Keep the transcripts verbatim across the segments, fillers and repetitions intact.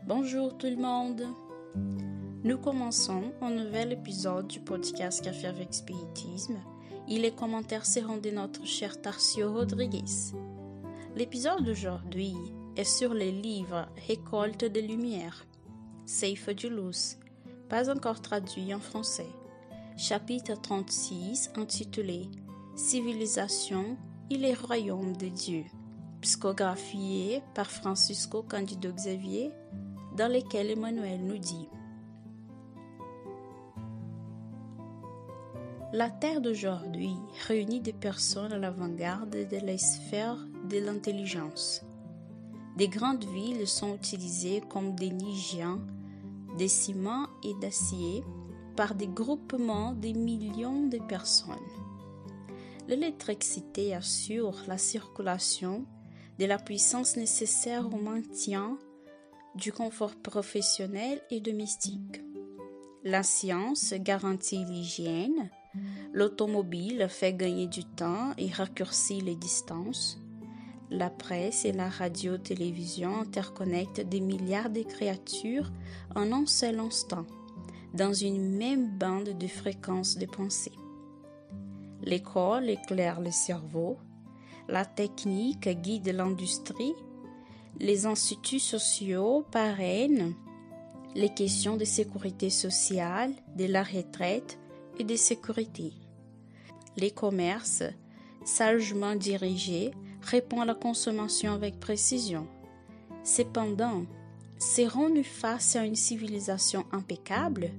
Bonjour tout le monde. Nous commençons un nouvel épisode du podcast Café avec Spiritisme et les commentaires seront de notre cher Tarcio Rodriguez. L'épisode d'aujourd'hui est sur les livres Récolte de lumière, Ceifa de Luz, pas encore traduit en français, chapitre trente-six intitulé Civilisation et les royaumes de Dieu, psychographié par Francisco Cândido Xavier, dans lesquels Emmanuel nous dit: La Terre d'aujourd'hui réunit des personnes à l'avant-garde de la sphère de l'intelligence. Des grandes villes sont utilisées comme des nids géants de ciment et d'acier par des groupements de millions de personnes. L'électricité assure la circulation de la puissance nécessaire au maintien du confort professionnel et domestique. La science garantit l'hygiène, l'automobile fait gagner du temps et raccourcit les distances, la presse et la radio-télévision interconnectent des milliards de créatures en un seul instant, dans une même bande de fréquences de pensée. L'école éclaire le cerveau, la technique guide l'industrie, les instituts sociaux parrainent les questions de sécurité sociale, de la retraite et de sécurité. Les commerces, sagement dirigés, répondent à la consommation avec précision. Cependant, serons-nous face à une civilisation impeccable?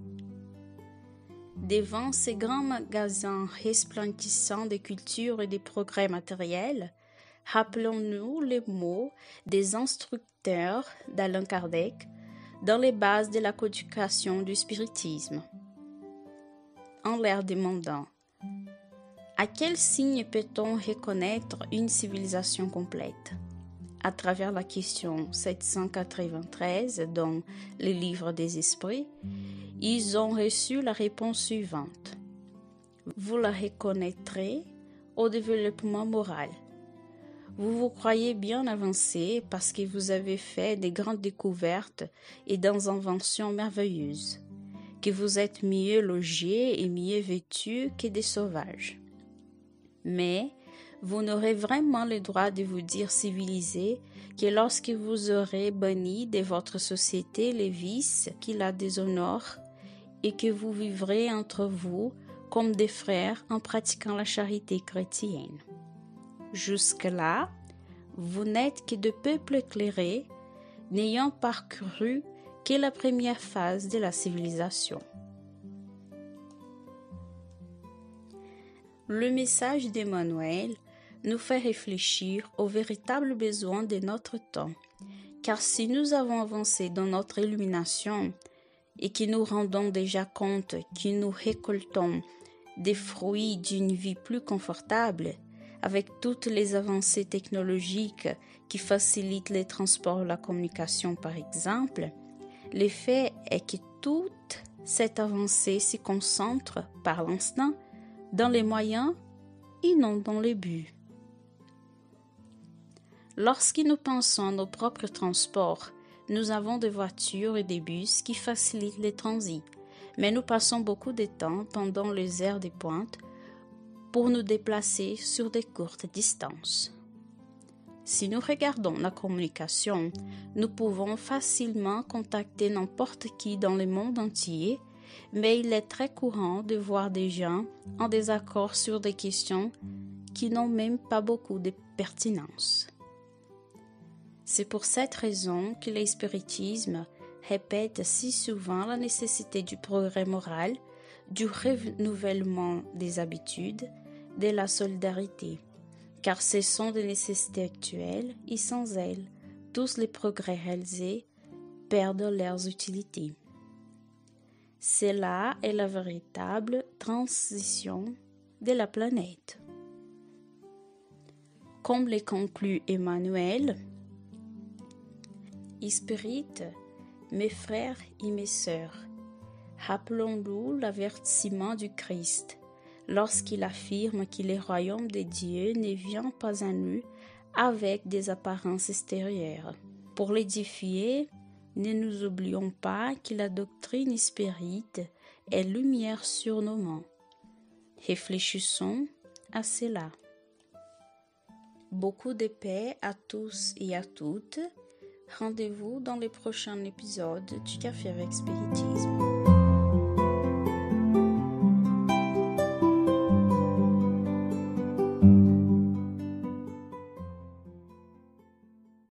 Devant ces grands magasins resplendissants de culture et de progrès matériels, rappelons-nous les mots des instructeurs d'Allan Kardec dans les bases de la codification du spiritisme. En leur demandant: à quel signe peut-on reconnaître une civilisation complète? À travers la question sept cent quatre-vingt-treize dans le livre des esprits, ils ont reçu la réponse suivante: vous la reconnaîtrez au développement moral. Vous vous croyez bien avancé parce que vous avez fait de grandes découvertes et des inventions merveilleuses, que vous êtes mieux logés et mieux vêtus que des sauvages. Mais vous n'aurez vraiment le droit de vous dire civilisé que lorsque vous aurez banni de votre société les vices qui la déshonorent et que vous vivrez entre vous comme des frères en pratiquant la charité chrétienne. Jusque-là, vous n'êtes que de peuples éclairés, n'ayant parcouru que la première phase de la civilisation. Le message d'Emmanuel nous fait réfléchir aux véritables besoins de notre temps, car si nous avons avancé dans notre illumination et que nous rendons déjà compte que nous récoltons des fruits d'une vie plus confortable, avec toutes les avancées technologiques qui facilitent les transports et la communication par exemple, l'effet est que toute cette avancée se concentre par l'instant dans les moyens et non dans les buts. Lorsque nous pensons à nos propres transports, nous avons des voitures et des bus qui facilitent les transits, mais nous passons beaucoup de temps pendant les heures de pointe pour nous déplacer sur des courtes distances. Si nous regardons la communication, nous pouvons facilement contacter n'importe qui dans le monde entier, mais il est très courant de voir des gens en désaccord sur des questions qui n'ont même pas beaucoup de pertinence. C'est pour cette raison que le spiritisme répète si souvent la nécessité du progrès moral, du renouvellement des habitudes, de la solidarité, car ce sont des nécessités actuelles et sans elles, tous les progrès réalisés perdent leur utilité. C'est là est la véritable transition de la planète. Comme le conclut Emmanuel, Spirit, mes frères et mes sœurs, rappelons-nous l'avertissement du Christ lorsqu'il affirme que le royaume de Dieu ne vient pas à nous avec des apparences extérieures. Pour l'édifier, Ne nous oublions pas que la doctrine spirite est lumière sur nos mains. Réfléchissons à cela. Beaucoup de paix à tous et à toutes. Rendez-vous dans les prochains épisodes du Café avec Spiritisme.